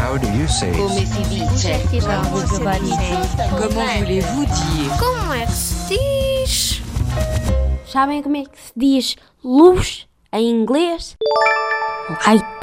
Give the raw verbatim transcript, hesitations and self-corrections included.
How do you say Come it? si dice? Comment voulez-vous dire? Como é que se diz? Sabem como é que se diz luz em inglês? Light.